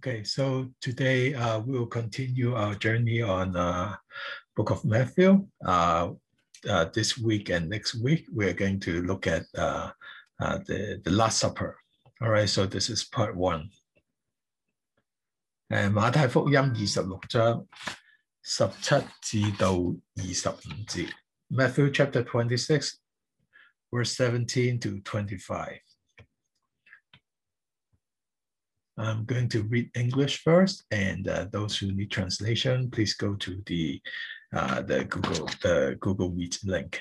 Okay, so today we will continue our journey on Book of Matthew. This week and next week, we're going to look at the Last Supper. All right, so this is part 1. 馬太福音26章17至到25節 Matthew chapter 26, verse 17 to 25. I'm going to read English first, and those who need translation, please go to the Google Meet link.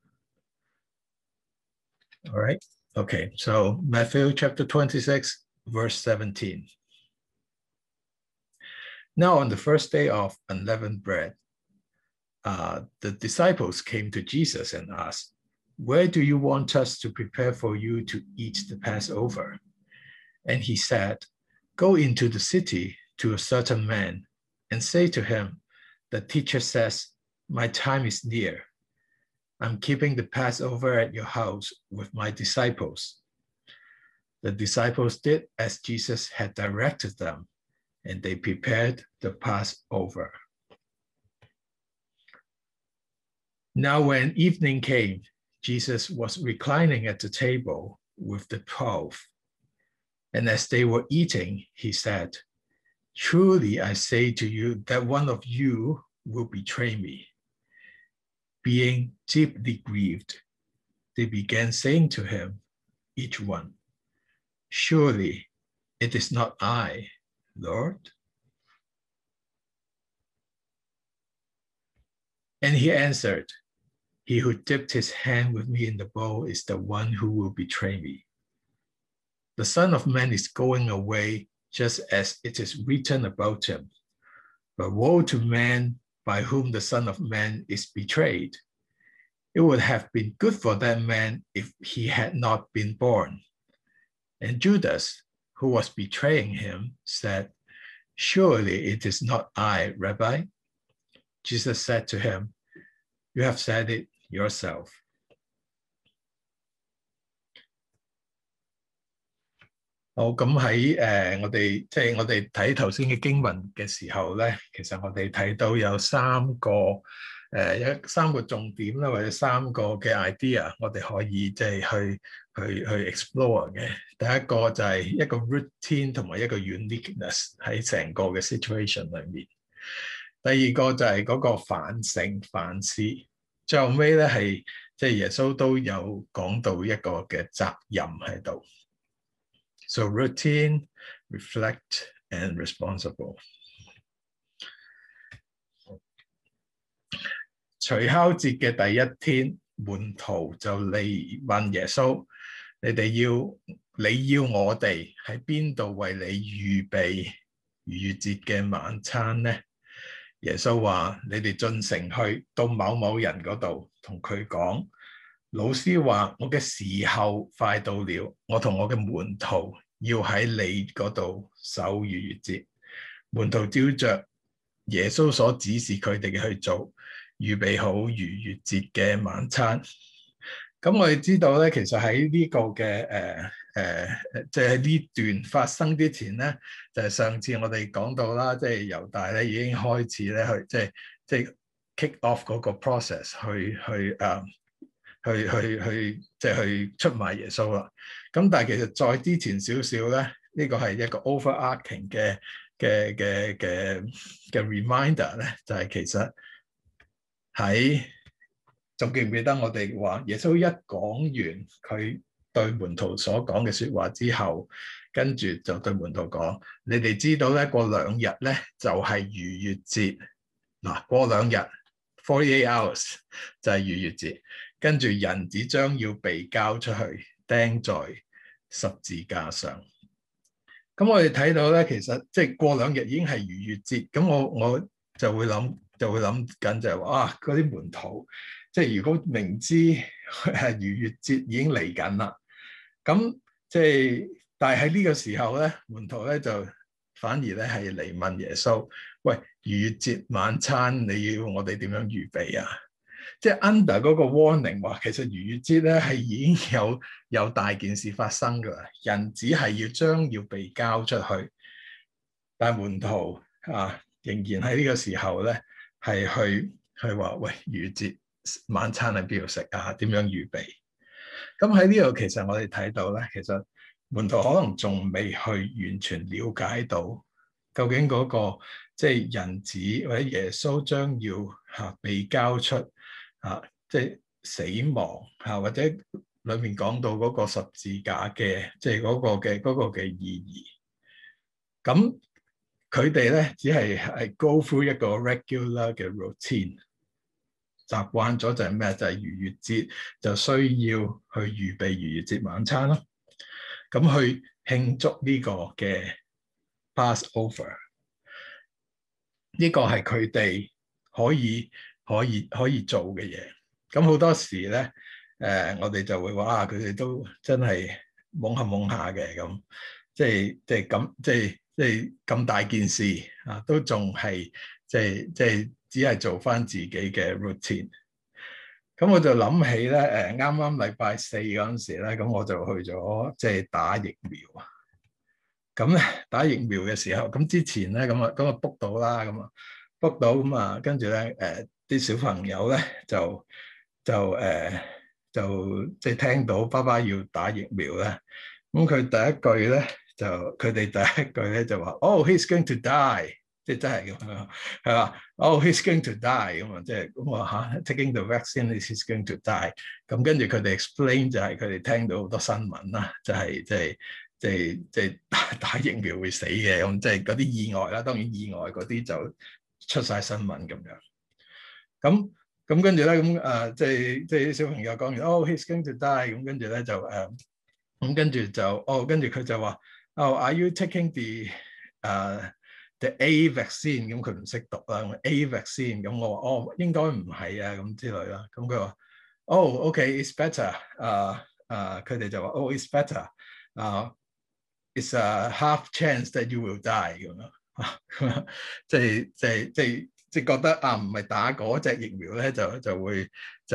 All right. Okay. So Matthew chapter 26, verse 17. Now on the first day of unleavened bread, the disciples came to Jesus and asked, "Where do you want us to prepare for you to eat the Passover?" And he said, "Go into the city to a certain man and say to him, 'The teacher says, my time is near. I'm keeping the Passover at your house with my disciples.'" The disciples did as Jesus had directed them, and they prepared the Passover. Now when evening came, Jesus was reclining at the table with the 12. And as they were eating, he said, "Truly I say to you that one of you will betray me." Being deeply grieved, they began saying to him, each one, "Surely it is not I, Lord." And he answered, "He who dipped his hand with me in the bowl is the one who will betray me. The Son of Man is going away just as it is written about him. But woe to man by whom the Son of Man is betrayed. It would have been good for that man if he had not been born." And Judas, who was betraying him, said, "Surely it is not I, Rabbi." Jesus said to him, "You have said it yourself."好，咁喺我哋睇頭先嘅經文嘅時候咧，其實我哋睇到有三個重點啦，或者3個嘅 idea，我哋可以去 explore 嘅。第一個就係一個 routine 同埋一個 uniqueness 喺成個嘅 situation 裏面。第二個就係嗰個反省反思。最後尾咧係耶穌都有講到一個嘅責任喺度。So routine, reflect, and responsible. 除酵節嘅第一天，門徒就嚟問耶穌：你要我哋喺邊度為你預備逾越節嘅晚餐呢？耶穌話：你哋進城去到某某人嗰度，同佢講，老師話我嘅時候快到了，我同我嘅門徒要喺你嗰度守逾越節。門徒照着耶穌所指示佢哋嘅去做，預備好逾越節嘅晚餐。咁我哋知道咧，其實喺呢個嘅即係呢段發生之前咧，就係上次我哋講到啦，即係猶大咧已經開始咧去即係 kick off 嗰個 process 去出賣耶穌啦。咁但係其實再之前少少咧，呢個係一個 overarching 嘅 reminder 咧，就係其實喺仲記唔記得我哋話耶穌一講完佢對門徒所講嘅説話之後，跟住就對門徒講：你哋知道咧，過2日咧就係逾越節。嗱，過2日48 hours 就係逾越節，跟住人子將要被交出去，釘在十字架上。咁我哋睇到咧，其實即係過2日已經係逾越節。咁我就會諗緊就係話嗰啲門徒，即係如果明知係逾越節已經嚟緊啦，咁但係喺呢個時候咧，門徒咧就反而咧係嚟問耶穌：喂，逾越節晚餐你要我哋點樣預備啊？即係 under 嗰個 warning 話，其實逾越節咧係已經有大件事發生㗎啦，人子係將要被交出去。 但係門徒仍然喺呢個時候咧，係去話喂，逾越節晚餐喺邊度食啊？點樣預備？咁喺呢度其實我哋睇到咧，其實門徒可能仲未去完全了解到究竟嗰個即係人子或者耶穌將要被交出即係死亡或者裏面講到嗰個十字架嘅即係嗰個嘅意義。咁佢哋咧只係 go through 一個 regular 嘅 routine， 習慣咗就係咩？就係逾越節就需要去預備逾越節晚餐咯。咁去慶祝呢個嘅 Passover， 呢個係佢哋可以做嘅嘢。咁好多時咧，我哋就會話佢哋都真係懵下嘅咁，即係咁大件事都仲係即係只係做翻自己嘅 routine。咁我就諗起咧，啱啱禮拜四嗰陣時咧，咁我就去咗即係打疫苗啊。咁咧打疫苗嘅時候，咁之前咧咁啊 book 到啦，咁啊 book 到咁啊，跟住咧啲小朋友咧就即係聽到爸爸要打疫苗咧，咁佢第一句咧就佢哋第一句咧就話：Oh, he's going to die。即係真係咁樣，係嘛？Oh, he's going to die 咁啊！即係咁啊嚇，taking the vaccine is going to die。咁跟住佢哋 explain 就係佢哋聽到好多新聞啦，就係即係打疫苗會死嘅，咁即係嗰啲意外啦。當然意外嗰啲就出晒新聞咁樣。咁跟住咧咁即係啲小朋友講完，Oh, he's going to die。咁跟住咧就咁跟住就跟住佢就話：Oh, are you taking the A vaccine？ 咁佢唔識讀啦，A vaccine。咁我話應該唔係啊，咁之類啦。咁佢話OK, it's better。佢哋就話it's better。It's a half chance that you will die 咁樣。即係覺得唔係打嗰隻疫苗咧，就會即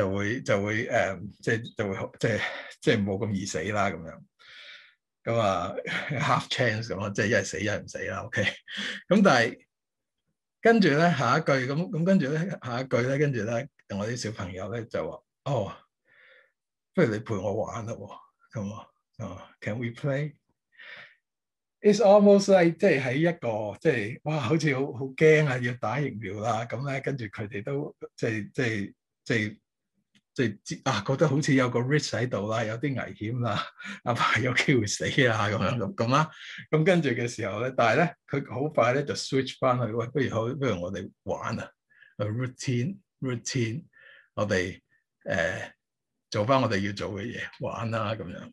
係冇咁易死啦咁樣。咁half chance 咁咯，即係一係死一係唔死啦。OK，咁但係跟住咧下一句咁跟住咧下一句咧，跟住咧我啲小朋友咧就話：不如你陪我玩啦喎。咁Can we play？ It's almost like 即係喺一個即係哇，好似好驚啊，要打疫苗啦。咁咧跟住佢哋都即係覺得好似有個 risk 喺度啦，有啲危險啦，阿爸有機會死啊咁啦。咁跟住嘅時候咧，但係咧佢好快咧就 switch 翻去，喂，不如我哋玩啊 ，routine， 我哋做翻我哋要做嘅嘢玩啦咁樣。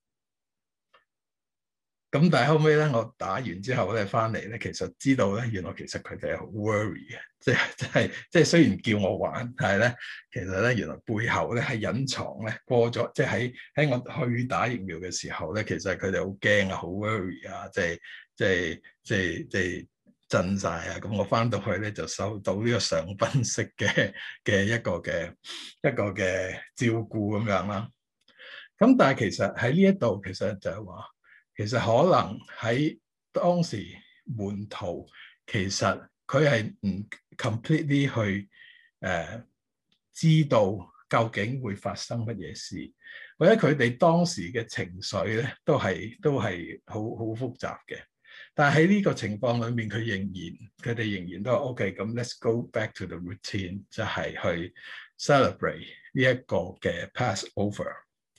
咁但係後尾咧，我打完之後咧，翻嚟咧，其實知道咧，原來其實佢哋係好 worry 嘅，即係雖然叫我玩，但係咧，其實咧原來背後咧係隱藏咧過咗，即係喺我去打疫苗嘅時候咧，其實佢哋好驚啊，好 worry 啊，即係震晒啊！咁我翻到去咧就收到呢個上賓式嘅一個嘅照顧咁樣啦。咁但係其實喺呢一度，其實就係話。其實可能喺當時門徒，其實佢係唔 completely 去知道究竟會發生乜嘢事，或者佢哋當時嘅情緒咧都係好複雜嘅。但係喺呢個情況裏面，佢哋仍然都係 OK。咁 let's go back to the routine， 就係去 celebrate 呢一個嘅 Passover。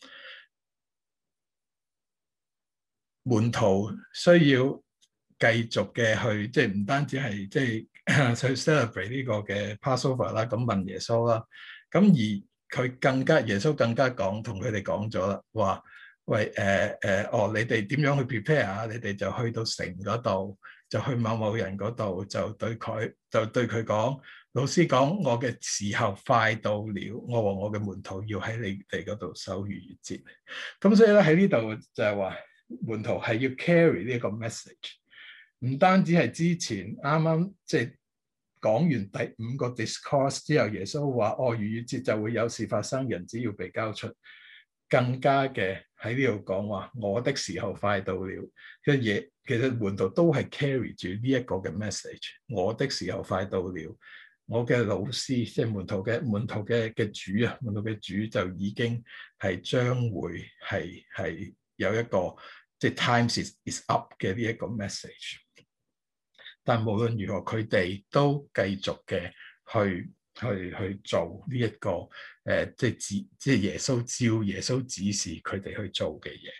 門徒需要繼續嘅去，即係唔單止係即係去 celebrate 呢個嘅 Passover 啦，咁問耶穌啦，咁而佢耶穌更加同佢哋講咗啦，話喂你哋點樣去 prepare 啊？你哋就去到城嗰度，就去某人嗰度，就對佢講，老師講我嘅時候快到了，我和我嘅門徒要喺你哋嗰度守逾越節。咁所以咧喺呢度就係話。門徒係要 carry 呢個 message， 唔單止係之前啱啱即係講完第5個 discourse 之後，耶穌話逾越節就會有事發生，人子要被交出。 更加嘅喺呢度講話，我的時候快到了嘅嘢，其實門徒都係 carry 住呢一個嘅 message，我的時候快到了。我嘅老師，即係門徒嘅主啊，門徒嘅主就已經係將會係有一個即係 times is up 嘅呢一個 message。但無論如何，佢哋都繼續嘅去做呢一個即係耶穌指示佢哋去做嘅嘢。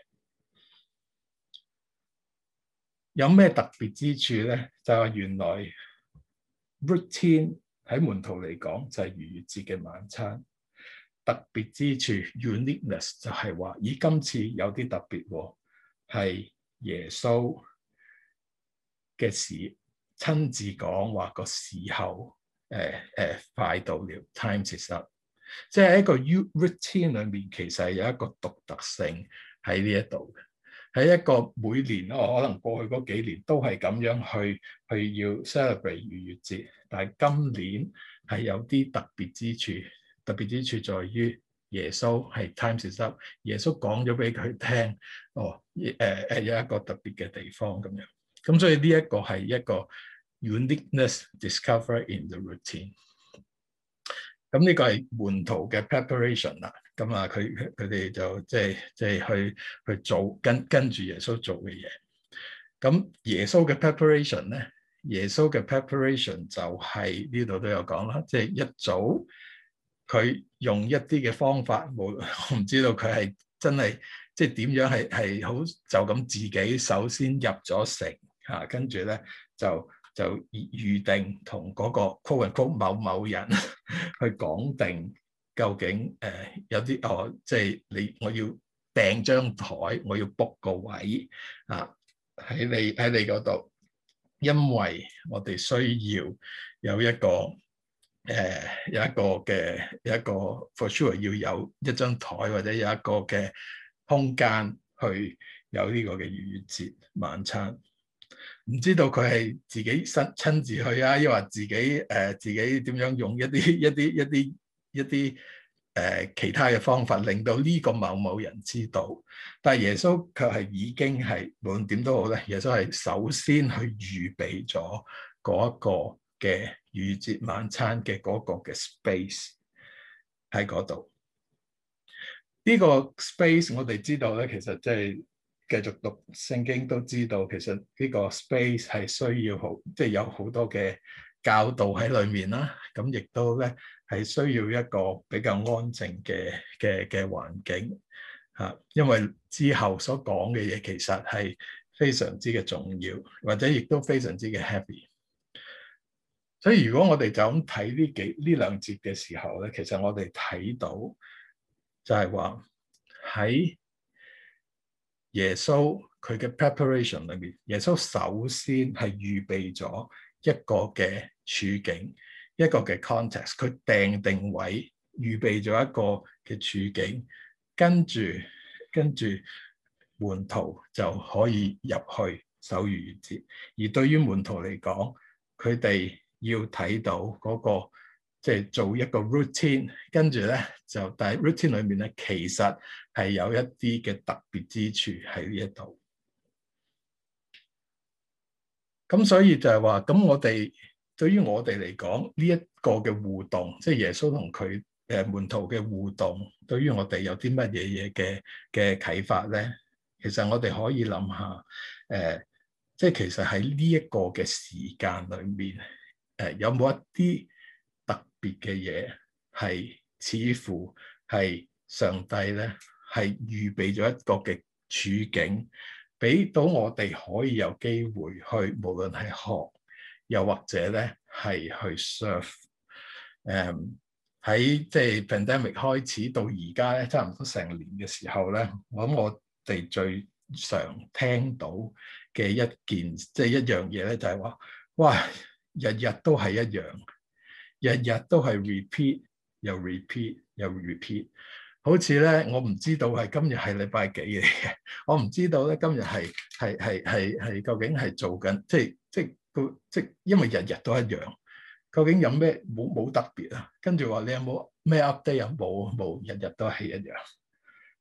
有咩特別之處咧？就係原來 routine 喺門徒嚟講就係逾越節嘅晚餐。特別之處 uniqueness 就係話，咦，今次有啲特別喎，係耶穌嘅事親自講話個時候快到了 ，time is up。即係一個 routine 裏面，其實係有一個獨特性喺呢一度嘅。喺一個每年可能過去嗰幾年都係咁樣去要 celebrate 逾越節，但係今年係有啲特別之處。特別之處在於耶穌係 time is up， 耶穌講咗俾佢聽，有一個特別嘅地方咁樣。咁所以呢一個係一個 uniqueness discovered in the routine。咁呢個係門徒嘅 preparation 啦。咁啊，佢哋就即係去做跟住耶穌做嘅嘢。咁耶穌嘅 preparation 咧，耶穌嘅 preparation 就係呢度都有講啦，即係一早佢用一啲嘅方法，我唔知道佢係真係即係點樣係好就咁自己首先入咗城嚇，跟住咧就預定同嗰個 quote and quote 某人去講定究竟有啲即係我要訂張台，我要 book 個位啊喺你嗰度，因為我哋需要有一個for sure 要有一張台或者有一個嘅空間去有呢個嘅逾越節晚餐。唔知道佢係自己親自去啊，抑或自己點樣用一啲其他嘅方法，令到呢個某人知道。但係耶穌卻係已經係無論點都好咧，耶穌係首先去預備咗嗰一個嘅逾越節晚餐嘅嗰個嘅 space 喺嗰度。呢個 space 我哋知道咧，其實即係繼續讀聖經都知道，其實呢個 space 係需要即係有好多嘅教導喺裏面啦。咁亦都咧係需要一個比較安靜嘅環境嚇，因為之後所講嘅嘢其實係非常之嘅重要，或者亦都非常之嘅 heavy。所以如果我哋就咁睇呢兩節嘅時候咧，其實我哋睇到就係話喺耶穌佢嘅 preparation 裏面，耶穌首先係預備咗一個嘅處境，一個嘅 context， 佢訂定位，預備咗一個嘅處境，跟住門徒就可以入去守逾越節。而對於門徒嚟講，佢哋要睇到嗰個即係做一個 routine， 跟住咧就但係 routine 裏面咧其實係有一啲嘅特別之處喺呢一度。咁所以就係話，咁我哋對於我哋嚟講呢一個嘅互動，即係耶穌同佢門徒嘅互動，對於我哋有啲乜嘢嘢嘅啟發咧？其實我哋可以諗下，即係其實喺呢一個嘅時間裏面，有冇一啲特別嘅嘢係似乎係上帝咧係預備咗一個嘅處境，俾到我哋可以有機會去，無論係學，又或者咧係去 serve。喺即係 pandemic 開始到而家咧，差唔多成年嘅時候咧，我諗我哋最常聽到嘅一樣嘢咧，就係話，哇，日日都係一樣，日日都係 repeat 又 repeat 又 repeat， 好似咧我唔知道係今日係禮拜幾嚟嘅，我唔知道咧今日係究竟係做緊，即因為日日都一樣。究竟有咩冇特別啊？跟住話你有冇咩 update 啊？冇，日日都係一樣。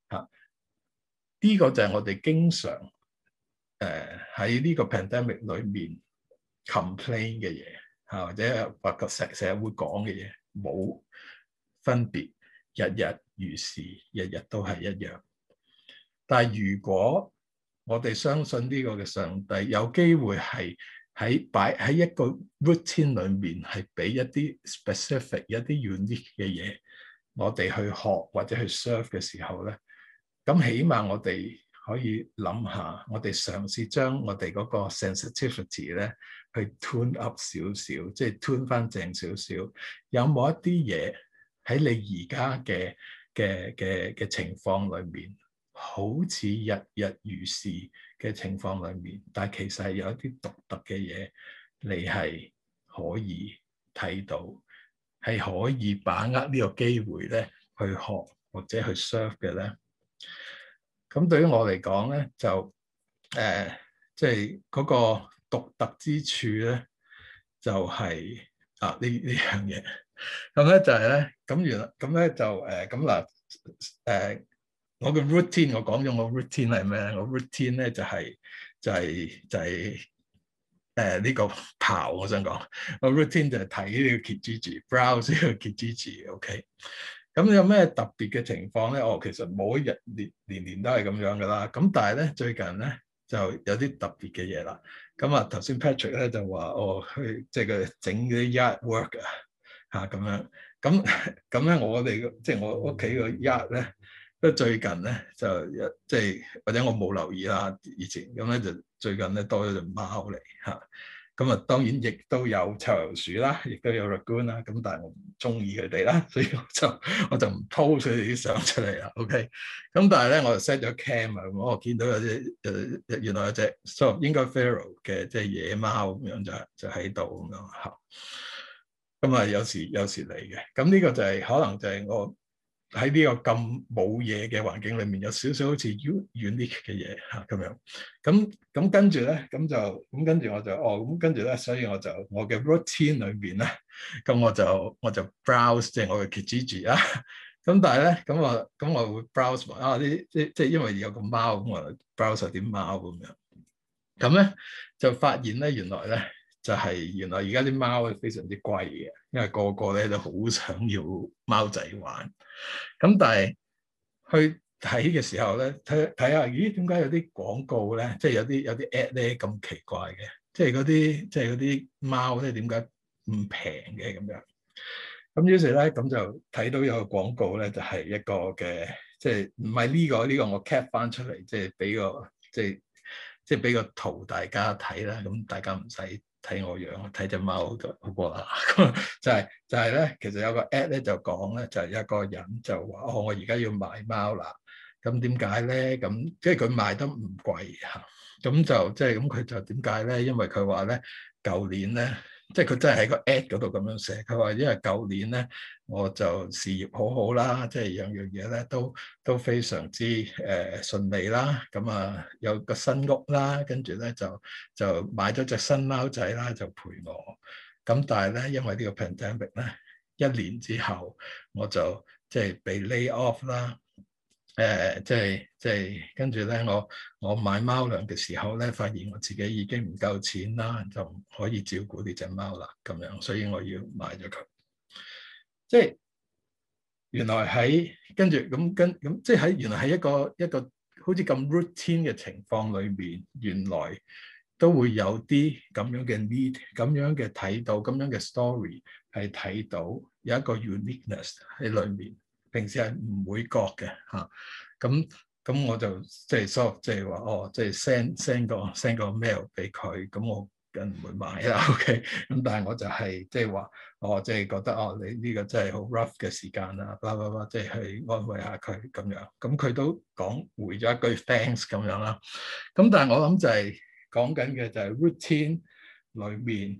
嚇。呢個就係我哋經常喺呢個 pandemic 裏面 complain 嘅嘢嚇，或者話成日會講嘅嘢冇分別，日日如是，日日都係一樣。但係如果我哋相信呢個嘅上帝有機會係擺喺一個 routine 裏面，係俾一啲 specific 一啲 unique 嘅嘢，我哋去學或者去 serve 嘅時候咧，咁起碼我哋可以諗下，我哋嘗試將我哋嗰個 sensitivity 咧去 tune up 少少，即係 tune 翻正少少。有冇一啲嘢喺你而家嘅情況裏面，好似日日如是嘅情況裏面，但係其實係有一啲獨特嘅嘢，你係可以睇到，係可以把握呢個機會咧去學或者去 serve 嘅咧。咁對於我嚟講咧，就即係嗰個獨特之處咧，就係呢樣嘢。咁咧就係咧，咁咧就咁嗱我嘅 routine 我講咗我 routine 係咩咧？我 routine 咧就係呢個刨。我想講我 routine 就係睇呢個 Kijiji，browse 呢個 Kijiji。OK。咁有咩特別嘅情況咧？其實冇一日年都係咁樣噶啦。咁但係咧最近咧就有啲特別嘅嘢啦。咁頭先 Patrick 咧就話去即係佢整啲 yard work 咁樣。咁咧我哋即係我屋企個 yard 咧，都最近咧就即係或者我冇留意啦，以前咁咧就最近咧多咗隻貓嚟嚇。咁當然亦都有臭油鼠啦，亦都有 Raccoon 啦。咁但係我唔中意佢哋啦，所以我就唔 po 佢哋啲相出嚟啦。OK。咁但係咧我就 set 咗 cam 啊，我見到有隻原來有隻應該 feral 嘅即係野貓咁樣就喺度咁樣嚇。咁有時嚟嘅。咁呢個就係可能就係我喺呢個咁冇嘢嘅環境裏面，有少少好似 unique 嘅嘢嚇咁樣。咁跟住咧，跟住我就咁跟住咧，所以我嘅 routine 裏邊咧，咁我就 browse 即係我嘅 Kijiji 啦。咁但係咧，咁我會 browse 埋即係因為有個貓，咁我 browse 啲貓咁樣。咁咧就發現咧，原來而家啲貓係非常之貴嘅，因為個個咧都好想要貓仔玩。咁但係去睇嘅時候咧，睇下，咦？點解有啲廣告咧，即係有啲 ad 咧咁奇怪嘅？即係嗰啲貓咧，點解唔平嘅咁樣？咁於是咧，咁就睇到有個廣告咧，就係一個嘅，即係唔係呢個我 cap 翻出嚟，即係俾個即係俾個圖大家睇啦。咁大家唔使睇我樣，睇隻貓就好過啦。就係咧，其實有個 ad 咧就講咧，就係一個人就話我而家要買貓啦。咁點解咧？咁即係佢賣得唔貴嚇。咁就即係咁，佢就點解咧？因為佢話咧，舊年咧。即係佢真係喺個 ad 嗰度咁樣寫，佢話因為舊年咧我就事業好好啦，即係樣樣嘢咧都非常之順利啦，咁有個新屋啦，跟住咧就買咗隻新貓仔啦，就陪我。咁但係咧，因為呢個 pandemic 咧，一年之後我就即係被 lay off 啦。即係跟住咧，我買貓糧嘅時候咧，發現我自己已經唔夠錢啦，就唔可以照顧呢隻貓啦，咁樣，所以我要賣咗佢。即係原來喺跟住咁，即係喺原來喺一個好似咁 routine 嘅情況裏面，原來都會有啲咁樣嘅 need，咁樣嘅睇到，咁樣嘅 story 係睇到有一個 uniqueness 喺裏面。平時係唔會覺嘅嚇，咁我就即係即係話即係 send 個 mail 俾佢，咁我梗唔會買啦。OK，咁但係我就係即係話即係覺得你呢個真係好 rough 嘅時間啊，blah blah blah，即係去安慰下佢咁樣。咁佢都回咗一句 thanks 咁樣啦。咁但係我諗就係講緊嘅就係 routine 裏面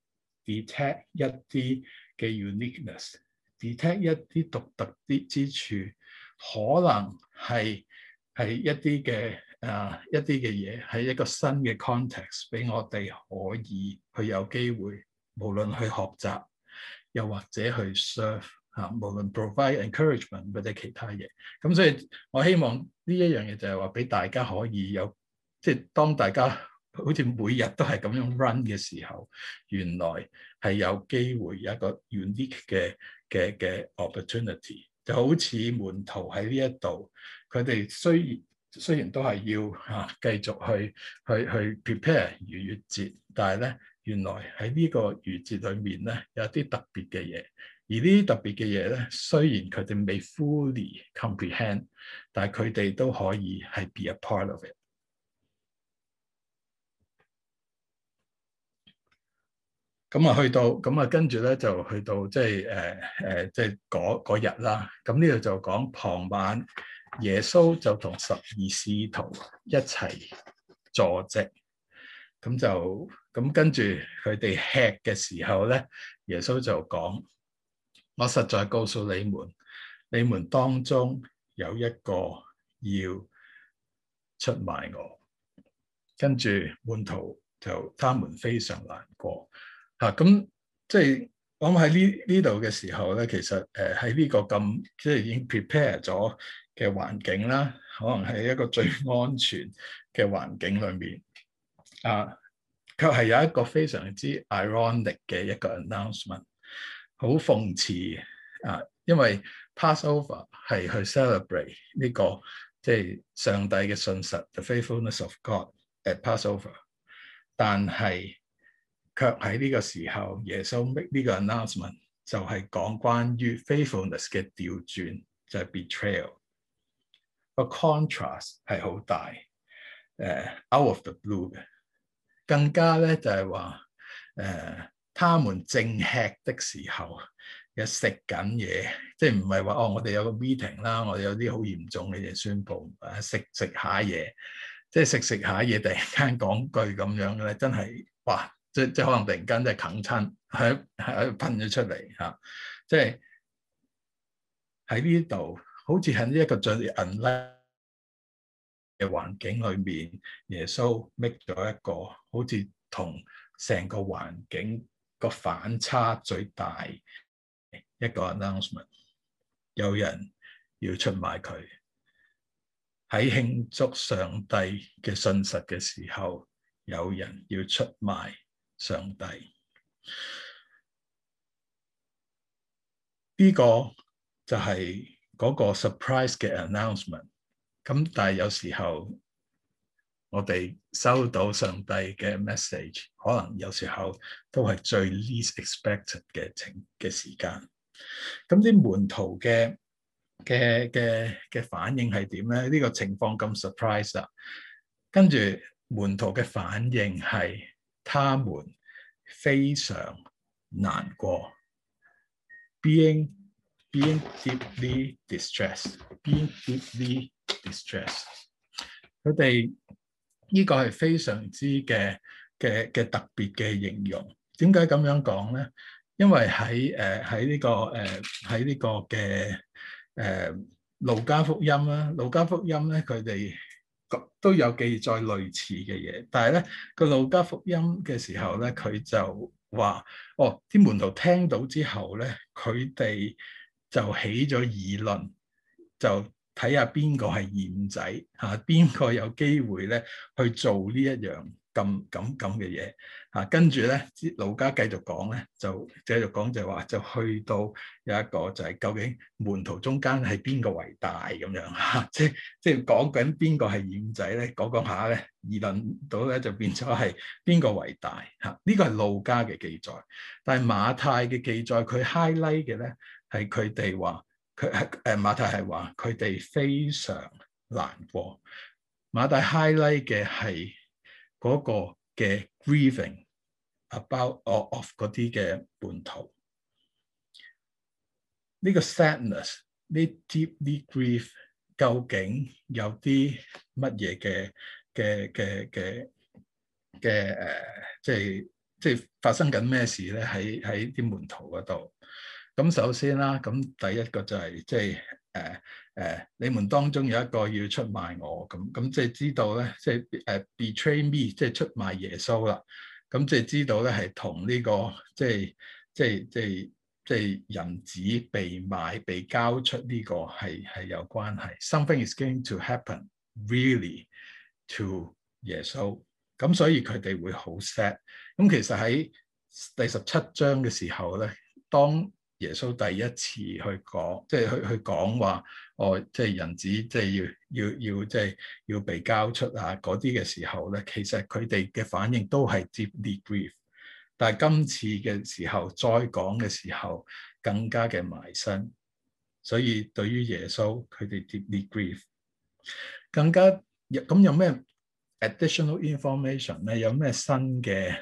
detect 一啲嘅 uniqueness。detect 一啲獨特啲之處，可能係一啲嘅嘢，係一個新嘅 context 俾我哋可以去有機會，無論去學習，又或者去 serve 無論 provide encouragement 或者其他嘢。咁所以我希望呢一樣嘢就係話俾大家可以有，即係當大家好似每日都係咁樣 run 嘅時候，原來係有機會有一個 unique 嘅 opportunity， 就好似門徒喺呢一度，佢哋雖然都係要繼續去 prepare 逾越節，但係咧原來喺呢個逾節裏面咧有啲特別嘅嘢，而呢啲特別嘅嘢咧雖然佢哋未 fully comprehend， 但係佢哋都可以係 be a part of it。咁啊，去到咁啊，跟住咧就去到即係即係嗰日啦。咁呢度就講傍晚，耶穌就同12使徒一齊坐席。咁跟住佢哋吃嘅時候咧，耶穌就講：我實在告訴你們，你們當中有一個要出賣我。跟住門徒就他們非常難過。咁即係我諗喺呢度嘅時候咧，其實喺呢個咁即係已經 prepare 咗嘅環境啦，可能係一個最安全嘅環境裏面，卻係有一個非常之 ironic 嘅一個 announcement， 好諷刺因為 Passover 係去 celebrate 呢個即係上帝嘅信實 ，the faithfulness of God at Passover， 但係卻喺呢個時候，耶穌 make 呢個 announcement 就係講關於 faithfulness 嘅調轉，就係 betrayal。個 contrast 係好大，out of the blue 嘅。更加咧就係話他們正吃的時候嘅食緊嘢，即係唔係話我哋有個 meeting 啦，我哋有啲好嚴重嘅嘢宣佈，食下嘢，即係食下嘢，突然間講句咁樣嘅咧，真係哇！即可能突然間真係啃親，喺噴咗出嚟即係喺呢度，好似喺呢一個最 unlikely 嘅環境裏面，耶穌 make 咗一個好似同成個環境個反差最大一個 announcement， 有人要出賣佢。喺慶祝上帝嘅信實嘅時候，有人要出賣上帝。呢個就係嗰個 surprise 嘅 announcement。咁但係有時候我哋收到上帝嘅 message， 可能有時候都係最 least expected 嘅時間。咁啲門徒嘅反應係點咧？呢個情況咁 surprise 啦。跟住門徒嘅反應係，他們非常難過 ，being deeply distressed，being deeply distressed。佢哋呢個係非常之嘅特別嘅形容。點解咁樣講咧？因為喺呢個嘅路加福音啦，路加福音咧佢哋都有記載類似嘅嘢，但係咧個路加福音嘅時候咧，佢就話啲門徒聽到之後咧，佢哋就起咗議論，就睇下邊個係鹽仔邊個有機會咧去做呢一樣咁嘅嘢跟住咧，路加繼續講咧，就繼續講就係話，就去到有一個就係究竟門徒中間係邊個為大咁樣即係講緊邊個係鹽仔咧，講下咧議論到咧就變咗係邊個為大呢個係路加嘅記載，但係馬太嘅記載佢 highlight 嘅咧係佢哋話馬太係話佢哋非常難過，馬太 highlight 嘅係嗰個嘅 grieving about of 嗰啲嘅門徒，呢個 sadness 呢 deeply grief 究竟有啲乜嘢即係發生緊咩事咧？喺啲門徒嗰度。咁首先啦，咁第一個就係你們當中有一個要出賣我，咁即係知道咧，即係betray me，即係出賣耶穌啦。咁即係知道咧係同呢個即係即係人子被賣、被交出呢個係有關係。Something is going to happen really to 耶穌。咁所以佢哋會好 sad。咁其實喺第17章嘅時候咧，當耶穌第一次去講，即係去講話，即係人子即係要即係要被交出啊嗰啲嘅時候咧，其實佢哋嘅反應都係 deeply grief。但係今次嘅時候再講嘅時候更加嘅埋身，所以對於耶穌佢哋 deeply grief。更加咁有咩 additional information 咧？有咩新嘅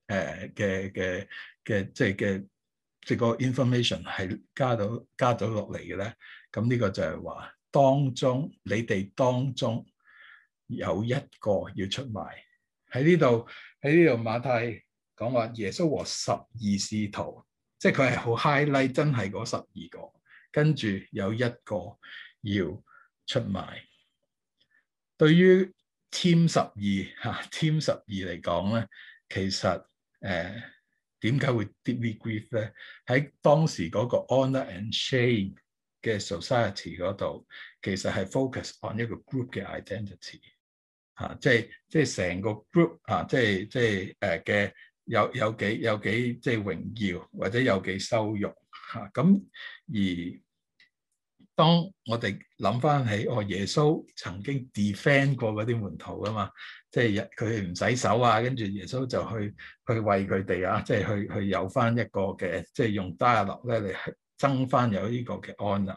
即係個 information 係加到落嚟嘅咧？咁呢個就係話你哋當中有一個要出賣。喺呢度馬太講話耶穌和12使徒，即係佢係好 highlight 真係嗰12個，跟住有一個要出賣。對於 Team 12嚟講咧，其實點解會 deeply grief 咧？喺當時嗰個 honor and shame 嘅 society 嗰度，其實係 focus on 一個 group 嘅 identity 即係成個 group 即係嘅有幾即係榮耀或者有幾羞辱咁而。當我哋諗翻起，耶穌曾經 defend 過嗰啲門徒噶嘛，即係佢哋唔洗手啊，跟住耶穌就去為佢哋啊，即係去有翻一個嘅，即係用 dialogue 咧嚟爭翻有呢個嘅 honor。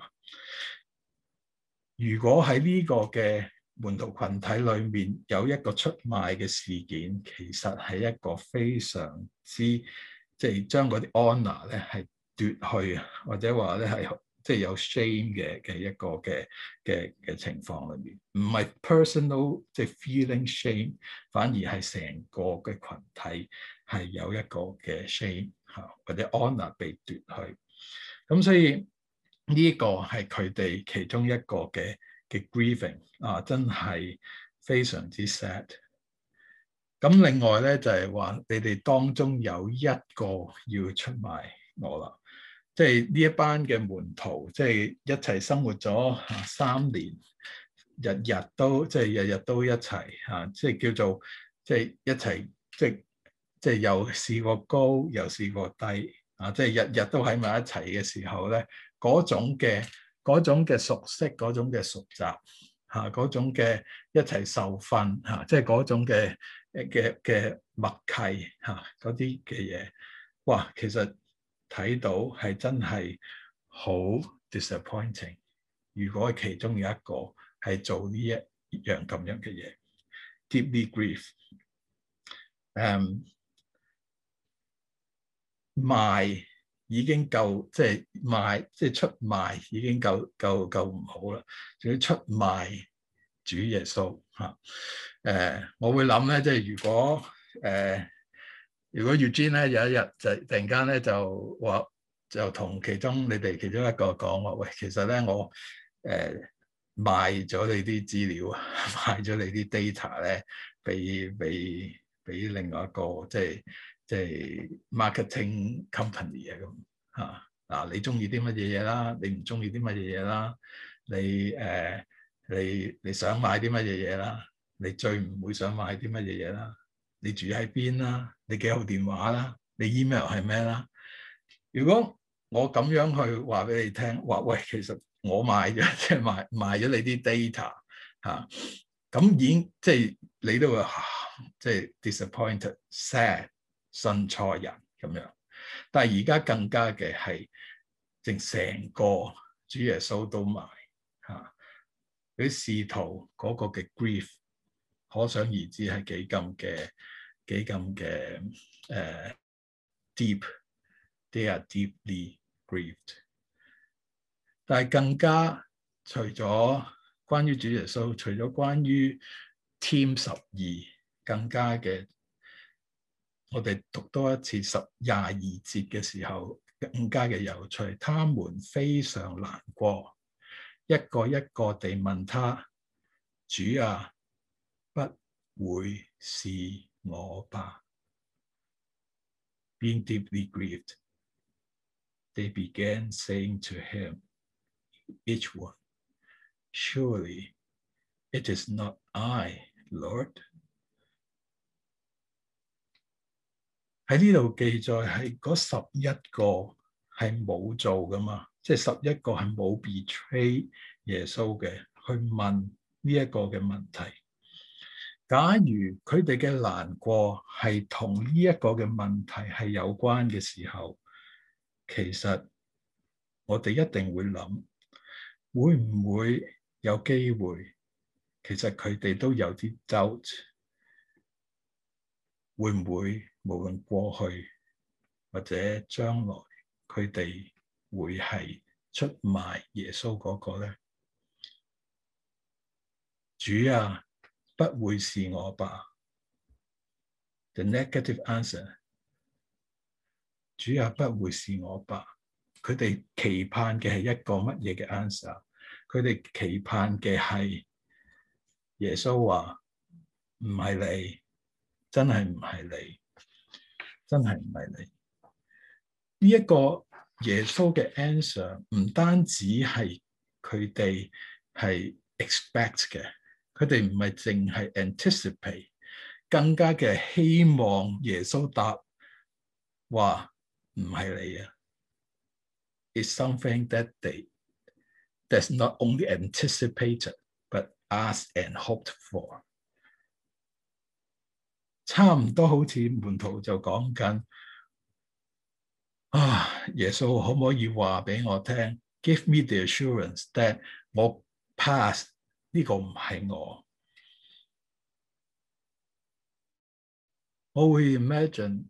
如果喺呢個嘅門徒群體裏面有一個出賣嘅事件，其實係一個非常之即係將嗰啲 honor 咧係奪去，或者話咧係。即係有 shame 嘅一個嘅情況裏面，唔係 personal 即係 feeling shame，反而係成個嘅群體係有一個嘅 shame 或者 honor 被奪去。咁所以呢個係佢哋其中一個嘅 grieving 真係非常之 sad。咁另外咧就係話，你哋當中有一個要出賣我啦。即係呢一班嘅門徒，即係一齊生活咗3年，日日都一齊即係叫做即係一齊，即係又試過高又試過低即係日日都喺埋一齊嘅時候咧，嗰種嘅熟悉，嗰種嘅熟習嗰種嘅一齊受訓即係嗰種嘅默契嗰啲嘅嘢，哇，其實〜睇到係真係好 disappointing。如果其中有一個係做呢一樣咁樣嘅嘢 ，deeply grief。賣已經夠，即係賣，即係出賣已經夠唔好啦，仲要出賣主耶穌我會諗咧，即係如果 Eugene 咧有一日就突然間咧就同你哋其中一個講話，喂，其實咧我賣咗你啲資料，賣咗你啲 data 咧，俾另外一個即係 marketing company 咁嗱，你中意啲乜嘢嘢啦？你唔中意啲乜嘢嘢啦？你想買啲乜嘢嘢啦？你最唔會想買啲乜嘢嘢啦？你住喺邊啦？你幾號電話啦？你 email 係咩啦？如果我咁樣去話俾你聽，話喂，其實我賣咗，即係賣咗你啲 data 咁已經即係你都會即係 disappointed、sad、信錯人咁樣。但係而家更加嘅係，成個主耶穌都賣啲使徒嗰個嘅 grief。可想而知係幾咁嘅deep，they are deeply grieved。但係更加除咗關於主耶穌，除咗關於 Team 12，更加嘅，我哋讀多一次22節嘅時候，更加嘅有趣。他們非常難過，一個一個地問他：主啊，不會是我吧？ Being deeply grieved。 They began saying to him, each one, Surely it is not I, Lord. 喺呢度記載係嗰11個係冇做噶嘛，即係11個係冇 betray 耶穌嘅，去問呢一個嘅問題。假如佢哋嘅難過係同呢一個嘅問題係有關嘅時候，其實我哋一定會諗，會唔會有機會？其實佢哋都有啲 doubt， 會唔會無論過去或者將來，佢哋會係出賣耶穌嗰個咧？主啊，不會是我吧 ？The negative answer， 主啊，不會是我吧？佢哋期盼嘅係一個乜嘢嘅 answer？ 佢哋期盼嘅係耶穌話唔係你，真係唔係你，真係唔係你。呢一個耶穌嘅 answer 唔單止係佢哋係 expect 嘅，佢哋唔係淨係 anticipate， 更加嘅希望耶穌答話唔係你啊。It's something that that's not only anticipated but asked and hoped for。差唔多好似門徒就講緊耶穌可唔可以話俾我聽 ？Give me the assurance that 我 pass 呢個唔係我。我會 imagine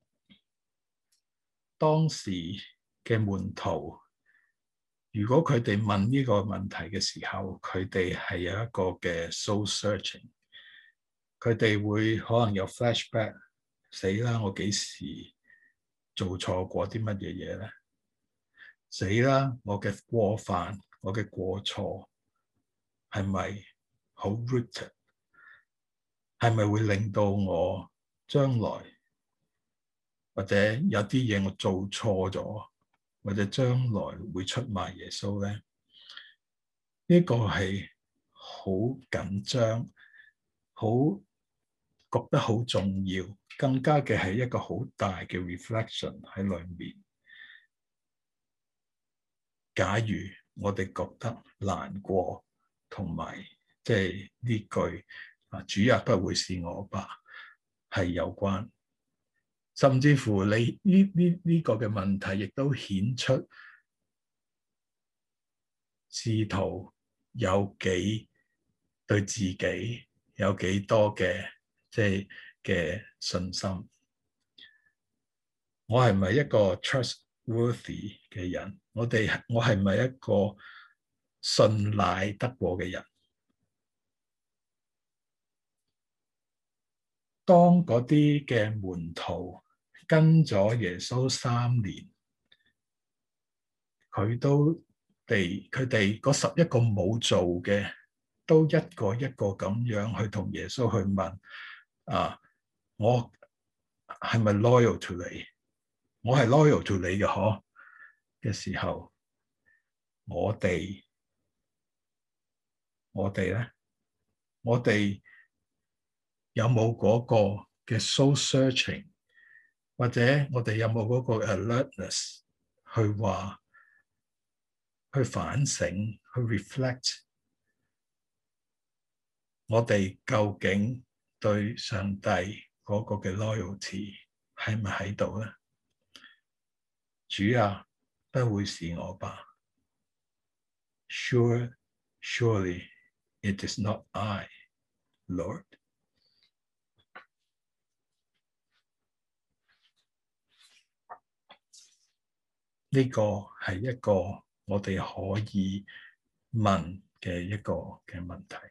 當時嘅門徒，如果佢哋問呢個問題嘅時候，佢哋係有一個嘅 soul searching， 佢哋會可能有 flashback， 死啦！我幾時做錯過啲乜嘢嘢咧？死啦！我嘅過犯，我嘅過錯係咪好 rooted？ 係咪會令到我將來或者有啲嘢我做錯咗，或者將來會出賣耶穌咧？呢個係好緊張，好覺得好重要，更加嘅係一個好大嘅 reflection 喺裏面。假如我哋覺得難過，同埋即係呢句主啊，不會是我吧，係有關，甚至乎你呢個嘅問題，亦都顯出使徒有幾對自己有幾多嘅即係嘅信心。我係咪一個 trustworthy 嘅人？我係咪一個信賴得過嘅人？當嗰啲嘅門徒跟咗耶穌3年，佢哋嗰11個冇做嘅，都一個一個咁樣去同耶穌去問我係咪 loyal to 你？我係 loyal to 你嘅嗬嘅時候，我哋咧，我哋有冇嗰個嘅 soul searching， 或者我哋有冇嗰個 alertness 去反省，去 reflect， 我哋究竟對上帝嗰個嘅 loyalty 係咪喺度咧？主啊，不會是我吧？ Surely it is not I, Lord。呢個係一個我哋可以問嘅一個嘅問題。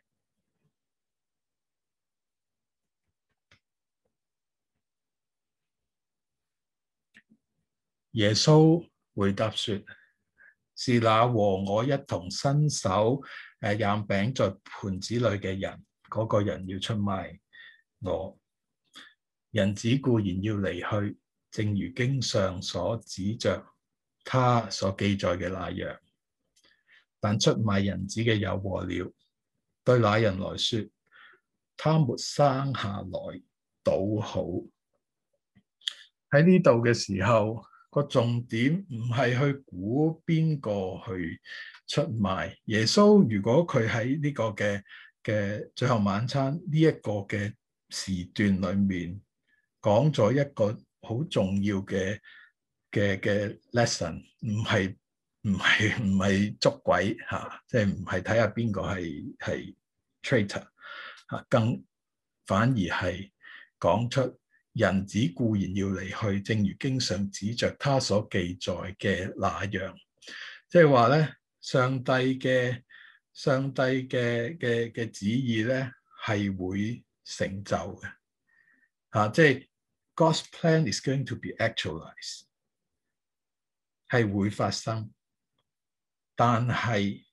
耶穌回答說：是那和我一同伸手蘸餅在盤子裏嘅人，嗰個人要出賣我。人子固然要離去，正如經上所指着他所記載嘅那樣。但出賣人子嘅有禍了，對那人來說，他沒生下來倒好。喺呢度嘅時候，個重點唔係去估邊個去出賣耶穌。如果佢喺呢個嘅最後晚餐呢一個嘅時段裏面講咗一個好重要嘅 lesson， 唔係捉鬼嚇，即係唔係睇下邊個係 traitor 嚇，更反而係講出人子固然要離去，正如經上指着他所記載嘅那樣，即係話咧，上帝嘅旨意咧係會成就嘅嚇，即係 God's plan is going to be actualized， 係會發生。但係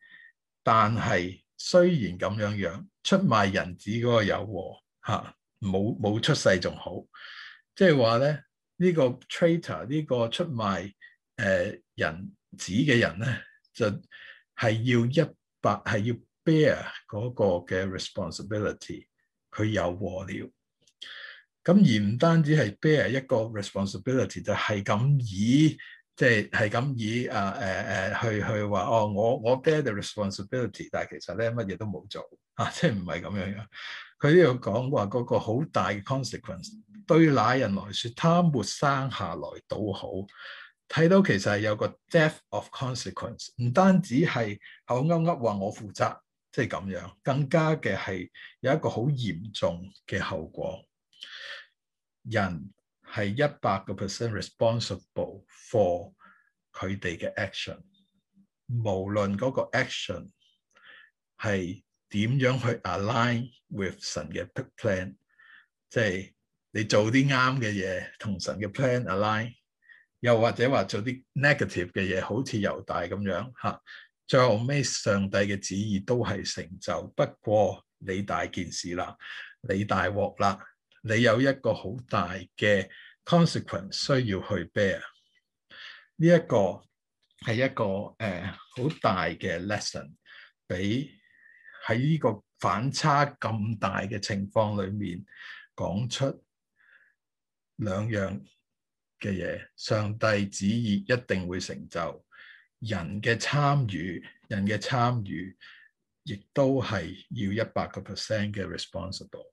雖然咁樣，出賣人子嗰個有禍嚇，冇出世仲好，即係話咧呢個 traitor 呢個出賣人子嘅人咧，就係要 bear 嗰個嘅 responsibility， 佢有禍了。咁而唔單止係 bear 一個 responsibility， 就係咁以。即係咁以去話哦，我 bear the responsibility， 但係其實咧乜嘢都冇做啊，即係唔係咁樣。佢呢度講話嗰個好大嘅 consequence， 對那人來說，他沒生下來倒好。睇到其實係有個 death of consequence， 唔單止係口噏噏話我負責，即係咁樣，更加嘅係有一個好嚴重嘅後果。人係100% responsible for 佢哋嘅 action， 無論嗰個 action 係點樣去 align with 神嘅 plan， 即係你做啲啱嘅嘢同神嘅 plan align， 又或者話做啲 negative 嘅嘢，好似猶大咁樣嚇，最後尾上帝嘅旨意都係成就。不過你大件事啦，你大鑊啦。你有一個好大嘅 consequence 需要去 bear， 呢一個係一個好大嘅 lesson， 俾喺呢個反差咁大嘅情況裏面講出兩樣嘅嘢。上帝旨意一定會成就，人嘅參與亦都係要100% 嘅 responsible。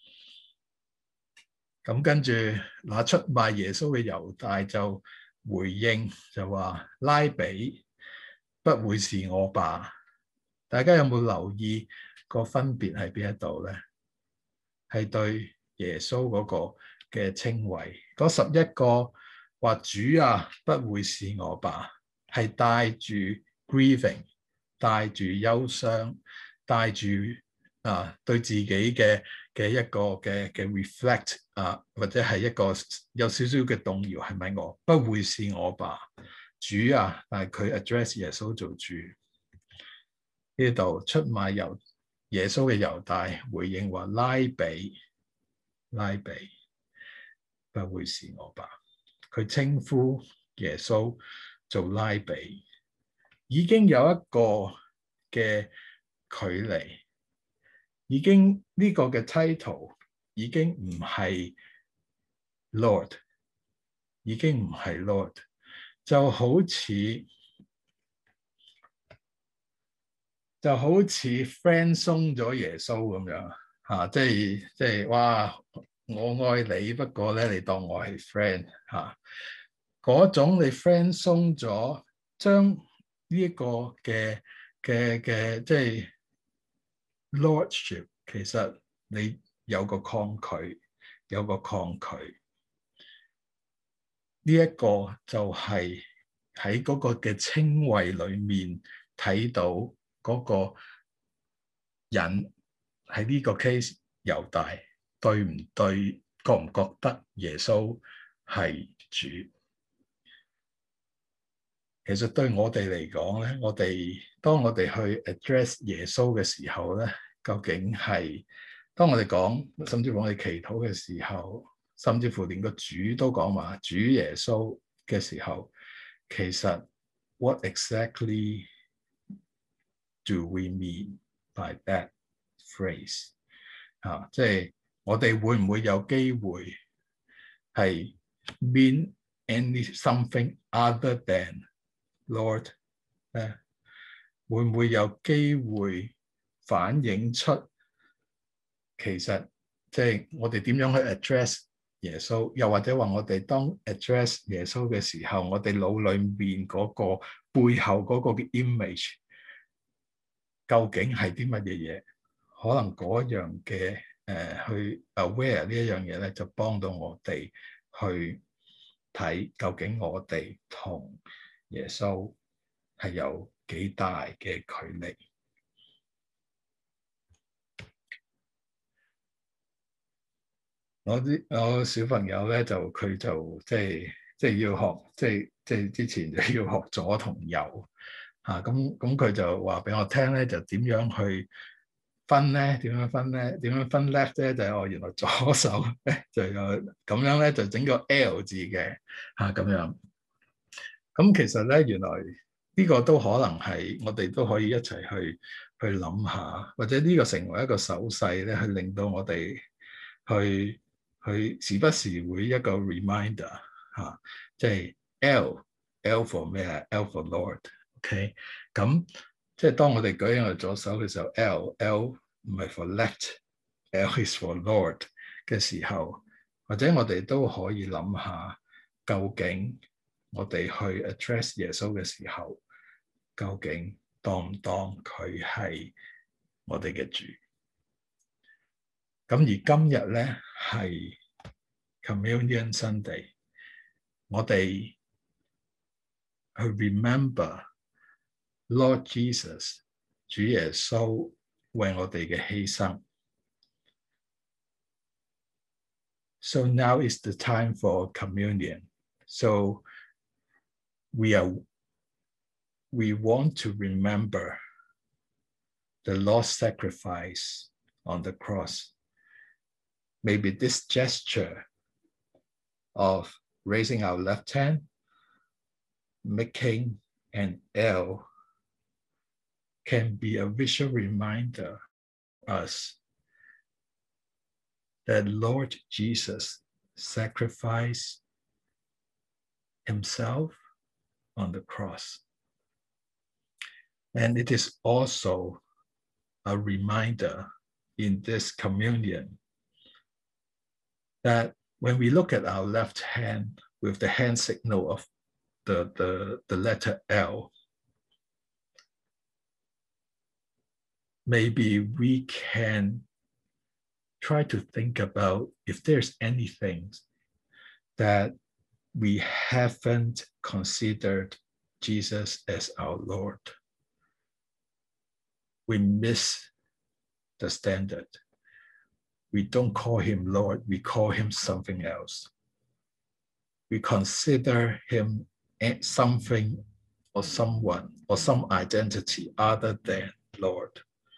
咁跟住，那出賣耶穌嘅猶大就回應就話：拉比，不會是我吧？大家有冇留意個分別喺邊一度咧？係對耶穌嗰個嘅稱謂，嗰11個話主啊，不會是我吧？係帶住 grieving， 帶住憂傷，帶住對自己嘅一個嘅 reflect 或者係一個有少少嘅動搖，係咪我？不會是我吧？主啊，但係佢 address 耶穌做主。呢度出賣耶穌嘅猶大回應話：拉比，不會是我吧？佢稱呼耶穌做拉比，已經有一個嘅距離。已經呢個嘅 title 已經唔係 Lord， 已經唔係 Lord， 就好似 friend 鬆咗耶穌咁樣嚇，即係哇！我愛你，不過咧你當我係 friend 嚇，嗰種你 friend 鬆咗，將呢一個嘅即係 Lordship， 其實你有個抗拒，呢一個就係喺嗰個嘅稱謂裏面睇到嗰個人喺呢個 case 猶大對唔對，覺唔覺得耶穌係主？其實對我哋嚟講咧，當我哋去 address 耶穌嘅時候咧，究竟係當我哋講，甚至乎我哋祈禱嘅時候，甚至乎連個主都講話主耶穌嘅時候， 其實 what exactly do we mean by that phrase？ 即係我哋會唔會有機會係 mean something other than Lord 咧？會唔會有機會反映出其實即係我哋點樣去 address 耶穌，又或者話我哋當 address 耶穌嘅時候，我哋腦裏面嗰個背後嗰個嘅 image 究竟係啲乜嘢嘢？可能嗰樣嘅去 aware 呢一樣嘢咧，就幫到我哋去睇究竟我哋同耶穌係有幾大嘅距離。我小朋友咧佢就即係要學即係之前就要學左同右嚇，咁佢就話俾我聽咧，就點樣去分咧？點樣分咧？點樣分 left 咧？就係我原來左手咧就有咁樣咧，就整個 L 字嘅嚇咁樣。咁其實咧，原來呢個都可能係我哋都可以一齊去諗下，或者呢個成為一個手勢咧，去令到我哋去時不時會一個 reminder 嚇，即係 L for 咩啊 ？L for Lord，OK？咁即係當我哋舉起我哋左手嘅時候，L 唔係 for left，L is for Lord 嘅時候，或者我哋都可以諗下究竟我哋去 address 耶穌嘅時候，究竟當唔當佢係我哋嘅主？咁而今日咧係 Communion Sunday， 我哋去 remember Lord Jesus 主耶穌為我哋嘅犧牲。So now is the time for communion. So we want to remember the Lord's sacrifice on the cross. Maybe this gesture of raising our left hand, making an L, can be a visual reminder to us that Lord Jesus sacrificed himself on the cross. And it is also a reminder in this communion that when we look at our left hand with the hand signal of the letter L, maybe we can try to think about if there's anything that we haven't considered Jesus as our Lord. We miss the standard. We don't call him Lord, we call him something else. We consider him something or someone or some identity other than Lord.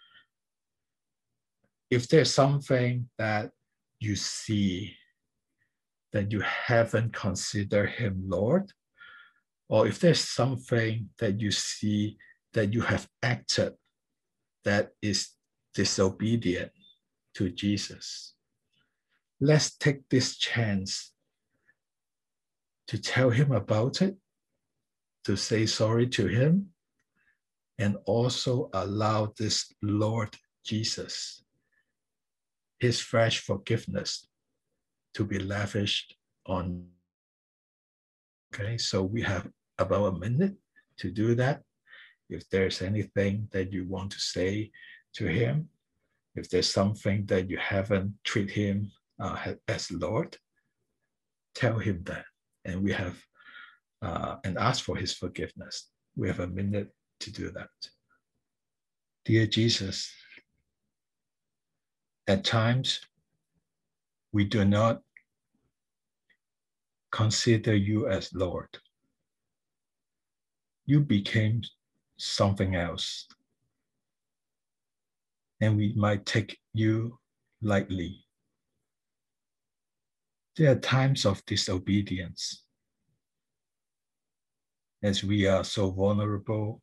If there's something that you see that you haven't considered him Lord, or if there's something that you see that you have acted that is disobedient to Jesus, let's take this chance to tell him about it, to say sorry to him, and also allow this Lord Jesus, his fresh forgiveness, to be lavished on. Okay, so we have about a minute to do that. If there's anything that you want to say to him, if there's something that you haven't treated him as Lord, tell him that. And we have, and ask for his forgiveness. We have a minute to do that. Dear Jesus, at times we do not consider you as Lord. You became something else, and we might take you lightly. There are times of disobedience. as we are so vulnerable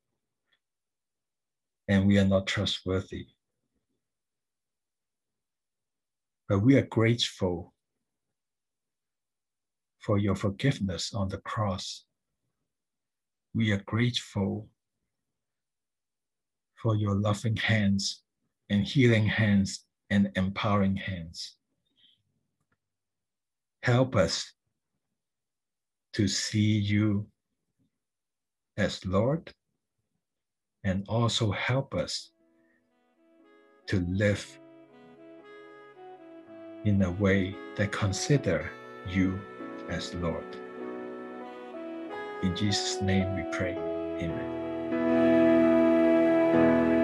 and we are not trustworthy. But we are grateful for your forgiveness on the cross. We are grateful for your loving hands and healing hands and empowering hands. Help us to see you as Lord, and also help us to live in a way that consider you as Lord. In Jesus' name we pray. Amen.